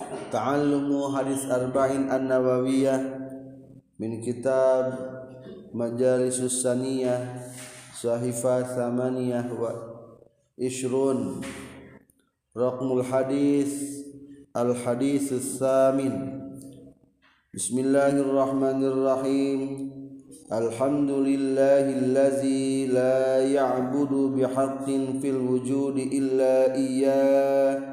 Ta'allumu hadis arba'in an-nawawiyah min kitab Majalisus Saniyah Sahifah Thamaniyah wa Ishrun Raqmul hadis Al-haditsus samin. Bismillahirrahmanirrahim. Alhamdulillahillazi la ya'budu bihaqqin fil wujudi illa iyyah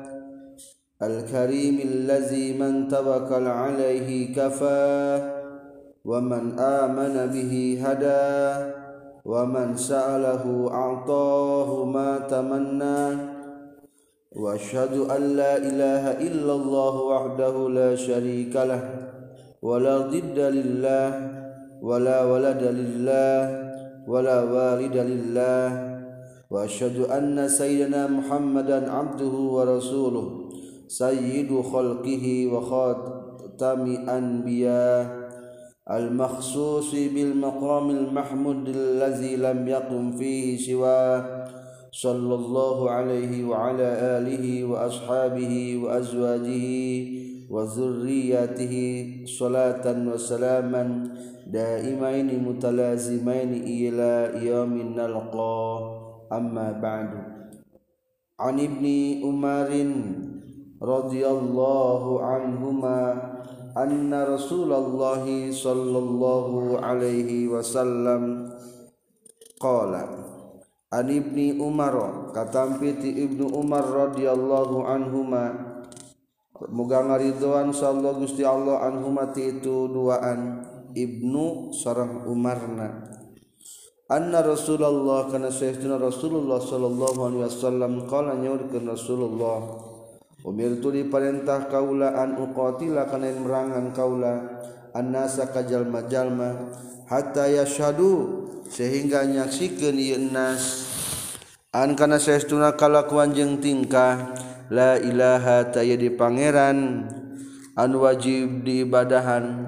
Al-karimil man tawakkal alaihi kafah wa man amana bihi hada wa man sa'alahu a'tahu ma tamanna wa asyhadu an la ilaha illallah wahdahu la syarika lah wa la dhidda lillah wa la walada lillah wa la walida lillah wa asyhadu anna sayyidina Muhammadan abduhu wa rasuluh sayyidu khalqihi wa khatami anbiya al-makhsusi bil maqamil mahmud allazi lam yaqum fihi siwa sallallahu alaihi wa ala alihi wa ashabihi wa azwajihi wa dhurriyyatihi salatan wa salaman daimaini mutalazimaini ila yaumin nalqa amma ba'du. An ibni Umarin radhiyallahu anhuma anna Rasulullah sallallahu alaihi wasallam qala an ibni Umar katampi ti Ibnu Umar radhiyallahu anhuma muga ngaridhoan sallallahu Gusti Allah anhuma ti itu duaan Ibnu sareng Umarna anna Rasulullah kana sayyidina Rasulullah sallallahu alaihi wasallam qala nyaurkeun Rasulullah umirtu diperintah kaula an uqatila kana merangan kaula annasa ka jalma-jalma hatta yashhadu sehingga nyaksikeun ieu nas an kana saestuna kalakuan jeung tingkah la ilaha taya di pangeran anu wajib diibadahan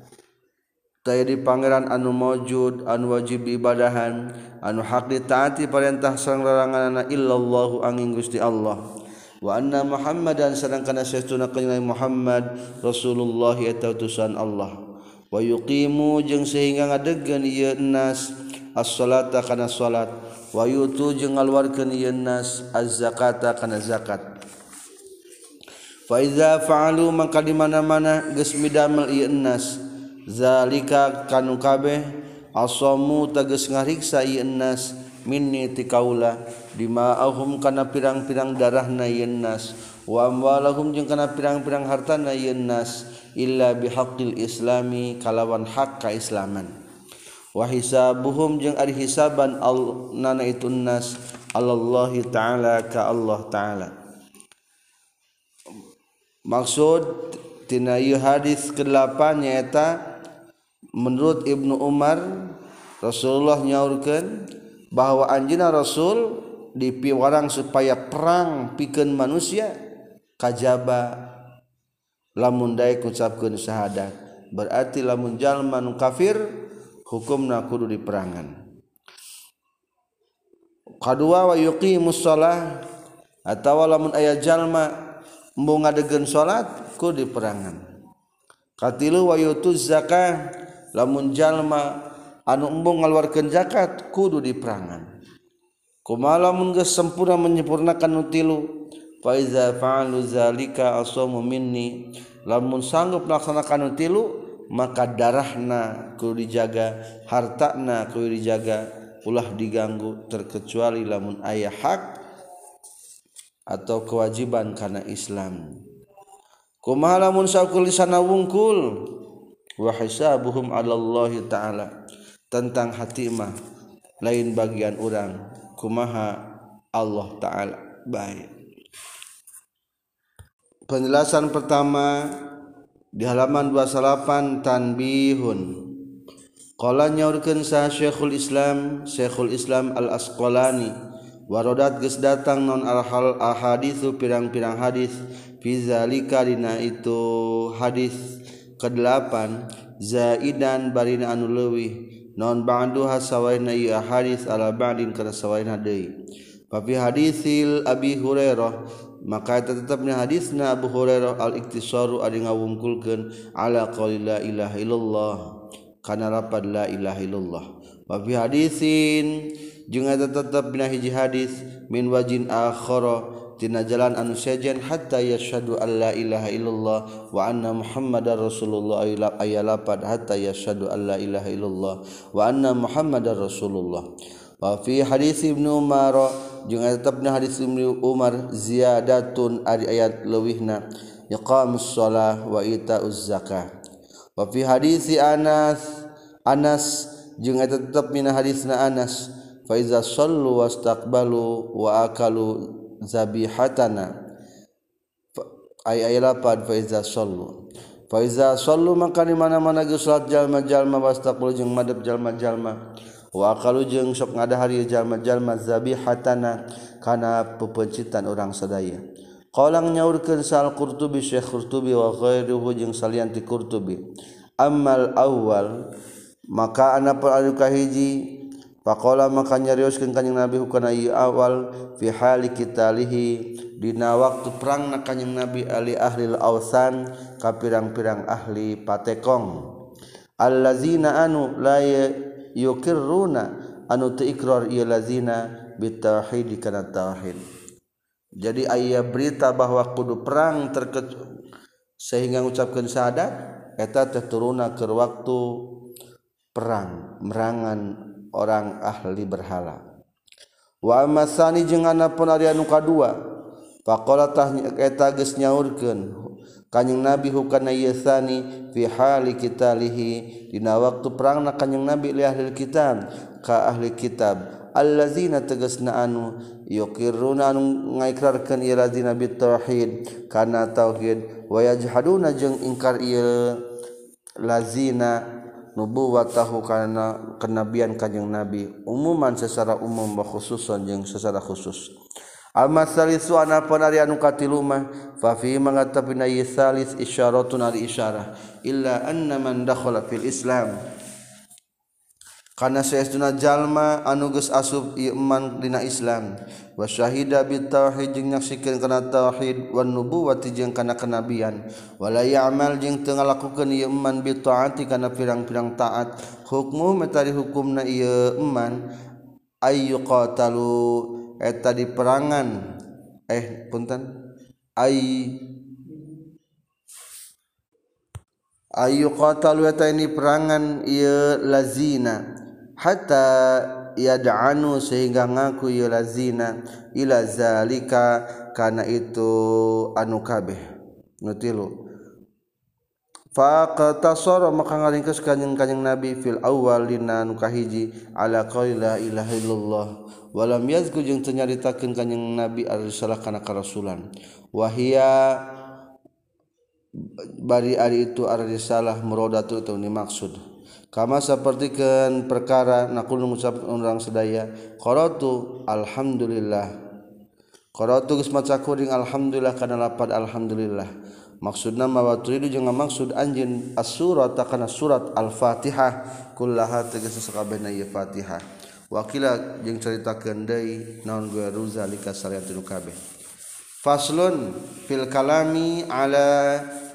taya di pangeran anu maujud anu wajib diibadahan anu hak ditaati perintah sareng laranganna illallah angin Gusti Allah wa anna Muhammadan sadangkana saestuna kanjeng Muhammad Rasulullah eta utusan Allah wa yuqimu jeung sehingga ngadegkeun ieu nas as-salata kana salat wa yutu jeung ngaluarkeun ieu nas az-zakata kana zakat fa iza fa'alu maka di mana-mana geus midamel ieu nas zalika kanu kabeh asamu tegas ngariksa ieu nas minni ti kaula dima'ahum kana pirang-pirang darahna yen nas wa amwalahum jeung kana pirang-pirang hartana yen nas illa bihaqqil islami kalawan hak kaislaman wa hisabuhum jeung ari hisaban nana itu nas allallahi taala ka Allah taala. Maksud tina ieu hadis ke-8 nyaeta menurut Ibnu Umar Rasulullah nyaurkeun bahwa anjeunna Rasul dipiwarang supaya perang pikeun manusia kajaba lamun daek ngucapkeun syahadat berarti lamun jalma nu kafir hukumna kudu diperangan. Kadua wa yuqimus shalah atawa lamun aya jalma embung ngadegeun salat kudu diperangan. Katilu wa yutuz zakah lamun jalma anu embung ngaluarkeun zakat kudu diperangan. Kumaha lamun geus sempurna menyempurnakan nu tilu fa iza fa'alu zalika asamu minni lamun sanggup melaksanakan nu tilu maka darahna kudu dijaga hartana kudu dijaga ulah diganggu terkecuali lamun aya hak atau kewajiban kana Islam. Kumaha lamun saukul lisana wungkul wa hisabuhum 'alallahi ta'ala tentang hati mah lain bagian urang kumaha Allah taala baik. Penjelasan pertama di halaman 28 tanbihun qala nyaurkeun sa Syekhul Islam Al-Asqalani warodat geus datang non al ahaditsu pirang-pirang hadis fi zalika dina itu hadis ke-8 zaidan barina anu leuwih non ba'duha sawaina hadis ala ba'din kana sawaina deui. Fa fi hadisil Abi Hurairah maka tetapnya hadisna Abu Hurairah al-iktisaru ari ngawungkulkeun ala qauli la ilaha illallah kana lapad la ilaha illallah wa fi hadisin jeung tetapna hiji hadis min wajin akhara tina jalan anu sejen hatta yashhadu alla ilaha illallah wa anna muhammadar rasulullah aya lapad hatta yashhadu alla ilaha illallah wa anna muhammadar rasulullah wa fi hadis Ibnu Umar jeung tetepna hadis Ibnu Umar ziyadatun ari ayat leuwihna iqamus shalah wa itauz zakah wa fi hadis Anas jeung tetep mina hadisna Anas fa iza shallu wastaqbalu wa akalu zabihatana ay lapad fa iza sallu maka di mana-mana geus salat jalma-jalma wastaqbalu jeung madep jalma-jalma wa akalu jeung sok ngadahari jalma-jalma zabihatana kana pepeuncitan urang sadaya qalang nyaurkeun sal Qurtubi Syekh Qurtubi wa ghairuhu jeung salianti Qurtubi ammal awal maka anapun anu kahiji faqala maka nyarioskeun kanjing Nabi hukana ieu awal fi hali qitalihi dina waktu perangna kanjing Nabi ali ahli al-awsan ka pirang-pirang ahli patekong allazina anu la yuqirruna anu teu iqrar ieu lazina bitauhid kana tauhid. Jadi aya berita bahwa kudu perang sehingga ngucapkeun syahadat eta teh turuna keur waktu perang merangan orang ahli berhala. Wa amasani jeung anapun ari anu kadua faqala tah eta geus nyaurkeun kanjing Nabi hukana yasani fi hali qitalihi dina waktu perangna kanjing Nabi li ahli kitab ka ahli kitab allazina tegasna anu yuqirruna anu ngaikrarkeun ieu lazina bitauhid kana tauhid wa yajhaduna jeung ingkar ieu lazina nubuwatahu kana kenabian kanjing Nabi umuman secara umum wa khususan jeung secara khusus. Al-masalisu anapun ari anu katilu mah fa fi mangatapina yisalis isyaratun ari isyarah illa anna man dakhala fil Islam kana saestuna jalma anu geus asup ieu iman dina Islam wa syahida bit tauhid jeung nyaksikeun kana tauhid wan nubuwati jeung kana kenabian wala ya'mal jeung teu ngalakukeun ieu iman bi taati kana pirang-pirang taat hukmu metari hukumna ieu iman ayyu qatalu eta di perangan ayyu qatalu eta ini perangan ieu lazina hatta yad'anu sehingga ngaku ieu lazina ila zalika kana itu anu kabeh nutilu faqatasara maka ngaringkeus kanjing Nabi fil awwal dina anu kahiji ala qauli la ilaha illallah walam yazku jeung teu nyaritakeun kanjing Nabi ar-risalah kana karasulan wahia bari ari itu ar-risalah muradatu atau dimaksud kama sapertikeun perkara naqulu ngucap urang sadaya qaratu alhamdulillah qaratu geus maca kuring alhamdulillah kana lapad alhamdulillah maksudna mawaturidu jeung maksud anjeun as-surat kana surat al-Fatihah kullaha tegas sakabehna ieu Fatihah wakila jeung caritakeun deui naon guru zalika salian tinu kabeh faslun fil kalami ala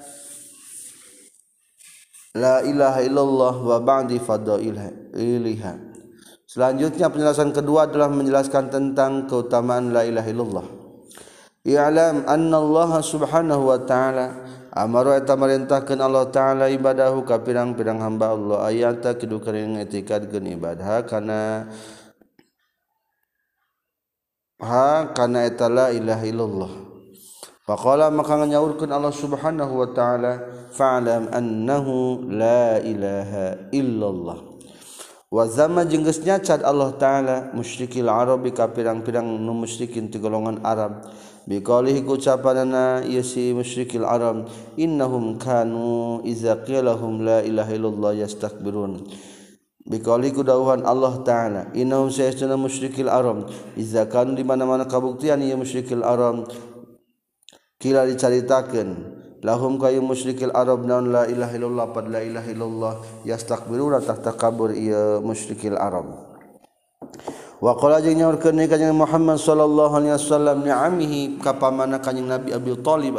la ilaha illallah wa ba'di fadailha. Selanjutnya penjelasan kedua adalah menjelaskan tentang keutamaan la ilaha illallah. I'lam anna Allah subhanahu wa ta'ala amara eta marintahkeun Allah taala ibadahu ka pirang-pirang hamba Allah ayata kidu kering etikadkeun ibadah kana eta la ilaha illallah. Faqala maka nyaurkeun Allah subhanahu wa ta'ala fa'lam annahu la ilaha illallah. Wa zama jeung geus nyacad Allah taala musyrikil arabi ka pirang-pirang nu musyrikin ti golongan Arab biqaulihi ucapanana ieu si musyrikil arab innahum kanu iza qila lahum la ilaha illallah yastakbirun biqaulihi dawuhan Allah taala innahum sayastuna musyrikil arab iza kanu di mana-mana kabuktian ieu musyrikil arab kila dicaritakeun lahum kayu musyrikil arab naun la ilaha illallah pad la ilaha illallah yastakbiruna takabur ieu musyrikil arab wa qala jeung nyaurkeun kanjeng Muhammad sallallahu alaihi wasallam ni'amihi ka pamana kanjeng Nabi Abi Thalib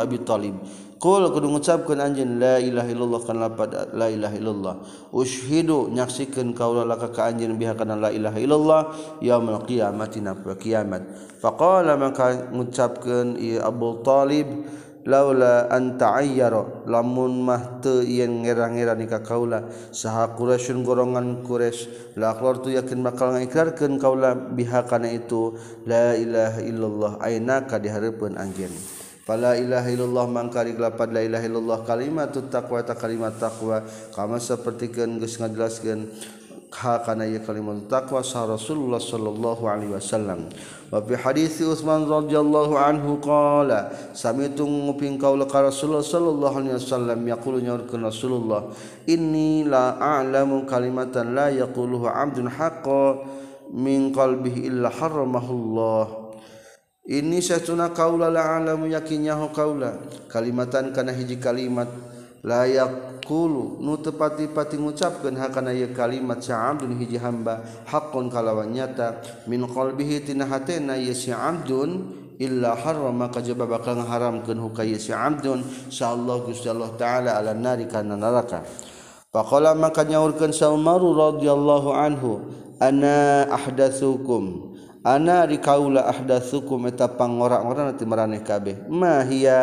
qul kudu ngucapkeun anjeun la ilaha illallah kana lapad la ilaha illallah ushidu nyaksikeun kaula laka ka anjeun biha kana la ilaha illallah yaumul qiyamati na kiamat faqala maka ngucapkeun ieu Abu Thalib laula anta ayyara lamun mah teu yen ngera-ngera ka kaula saha Quraisyun golongan Quraisy la aqrartu yakin bakal ngikrarkeun kaula biha kana itu la ilaha illallah ainaka di hareupeun anjeun fala ilaha illallah mangkari lapad la ilaha illallah kalimatut taqwa ta kalimat taqwa kama sapertikeun geus ngajelaskeun ha kana ieu kalimat taqwa sa Rasulullah sallallahu alaihi wasallam wa fi hadits Utsman radhiyallahu anhu qala sami'tu nguping qaula ka Rasulullah sallallahu alaihi wasallam yaqulu nyaurkeun Rasulullah inni la a'lamu kalimatan la yaquluhu 'abdun haqqan min qalbihi illa haramahullah ini satuna kaula la alamu yakinyahu kaula kalimatan kana hiji kalimat la yaqulu nu tepati-pati ngucapkeun hakana ieu kalimat sa'abdun hiji hamba haqqun kalawan nyata min qalbihi tina hatena ieu si 'abdun illa harrama kajaba bakal ngaharamkeun hukaya si 'abdun insyaallah Gusti Allah taala ala nari kana neraka faqala maka nyaurkeun Umar radhiyallahu anhu ana ahdatsukum ana di kaula ahdatsukum eta pangora-ngora ti maraneh kabeh ma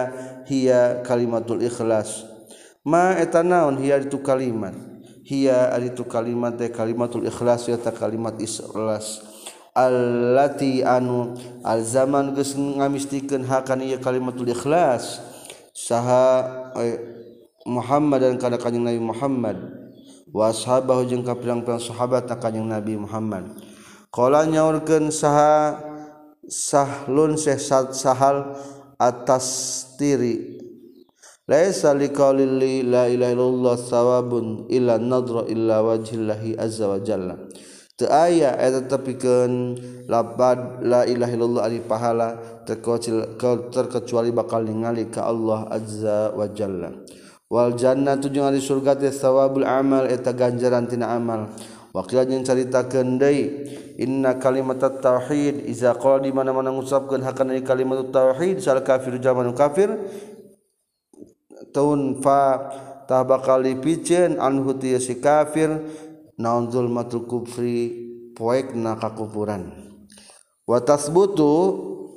hiya kalimatul ikhlas ma eta naon hiya itu kalimat hiya itu kalimat teh kalimatul ikhlas eta kalimat ikhlas allati anu al zaman geus ngamistikeun hakan ieu kalimatul ikhlas saha Muhammad dan kana kanjeng Nabi Muhammad wa ashabahu jeung ka pirang-pirang sahabat kanjeng Nabi Muhammad qala nyaurkeun saha Sahlun Syekh Sahal atas tiri laisa liqauli la ilaha illallah sawabun illa nadra illa wajhillahi azza wa jalla teu aya eta tepikeun lapad la ilaha illallah ari pahala terkecuali bakal ningali ka Allah azza wa jalla wal jannatu jeung ari surga teh sawabul amal eta ganjaran tina amal Wakil yang caritakeun deui inna kalimat tauhid iza qala di mana-mana ngucapkeun hakana kalimat tauhid sal kafir zaman kafir taun fa tah bakal dipicieun anhu ti si kafir naun zulmatul kufri poekna kakufuran wa tasbutu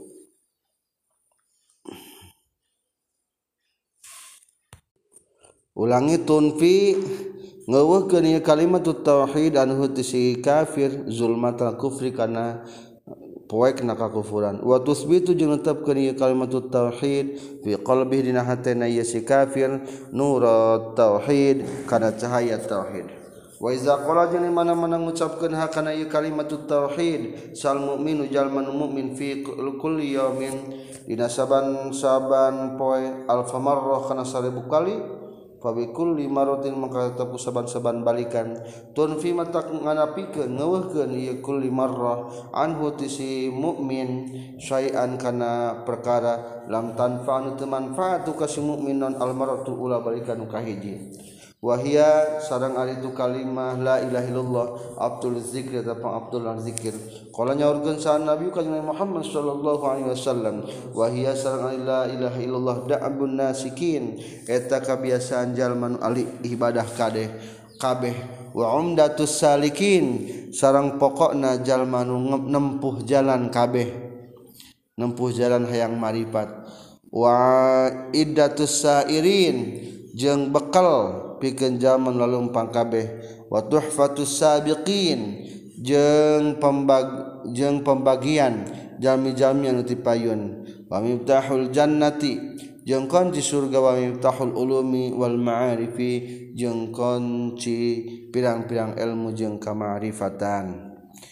ulangi tunfi ngeuweuhkeun ieu kalimat tauhid anu ti si kafir zulmatal kufri kana poekna kakufuran wa tusbitu jeung netepkeun ieu kalimat tauhid fi qalbihi dina hatena ieu si kafir nurat tauhid kana cahaya tauhid wa iza qala jeung mana-mana ngucapkeun hakana ieu kalimat tauhid sal mukminu jalman mukmin fi kulli yaumin dina saban-saban poe alfa marrah kana 1000 kali fabikulli maratin maka tetep saban-saban balikan tunfi mata nganapikeun ngeuweuhkeun ieu kulli marrah anhu ti si mukmin syai'an kana perkara lam tanfa'u teu manfaat ka si mukmin non almaratu ulah balikan ka hiji wahia sareng ari tu kalimah la ilaha illallah abdul zikr atau abdul zikir qala nyaurkeun sa nabi kanjeng Muhammad sallallahu alaihi wasallam wahia sareng ari la ilaha illallah da'abun nasikin eta kabiasaan jalman ali ibadah kabeh wa umdatus salikin sareng pokokna jalma nu nempuh jalan kabeh nempuh jalan hayang marifat wa iddatus sairin jeung bekal pikeun zaman lalumpang kabeh wa tuhfatus sabiqin jeung pembagian jami-jami anu ti payun wa miftahul jannati jeung kunci surga wa miftahul ulumi wal ma'arifi jeung kunci pirang-pirang ilmu jeung kamarifatan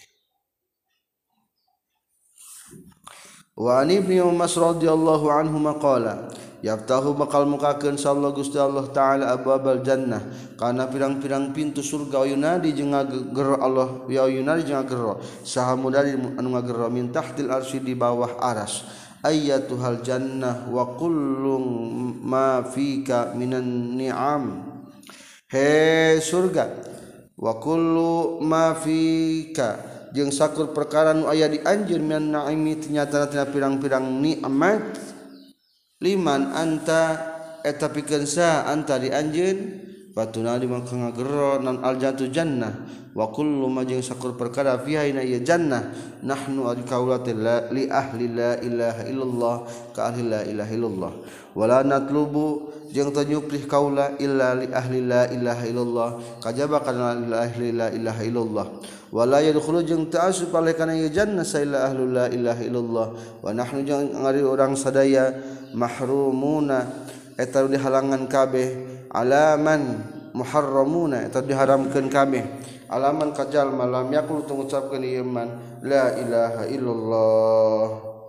wa an ibnu Mas'ud radhiyallahu anhu maqala yaftahu bakal mukakeun sallallahu Gusti Allah taala abwabal jannah kana pirang-pirang pintu surga yunadi jeung ngagero Allah ya yunadi jeung ngagero saha mudari anu ngagero min tahtil arsy di bawah aras ayyatuhal jannah wa kullu ma fika minan ni'am he surga wa kullu ma fika jeung sakur perkara nu aya di anjeun min naimi ternyata tina pirang-pirang nikmat liman anta eta pikeun sa anta di anjeun batuna di mangka ngagero nan aljatu jannah wa kullu ma jeung sakur perkara fiha ina ieu jannah nahnu al qaulati li ahli la ilaha illallah ka ahli la ilaha illallah wala natlubu jeung teu nyukrih kaula illa li ahli la ilaha illallah kajaba kana li ahli la ilaha illallah wala yadkhulu jeung teu asup aleh kana ieu jannah sa illa ahli la ilaha illallah wa nahnu jeung ngari urang sadaya mahrumuna eta dihalangan kabeh alaman muharramuna eta diharamkeun kabeh alaman kajal malam yakul ngucapkeun ieu man la ilaha illallah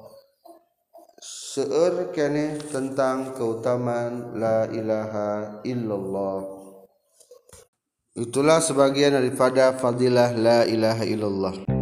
seueur keneh tentang keutamaan la ilaha illallah. Itulah sebagian daripada fadilah la ilaha illallah.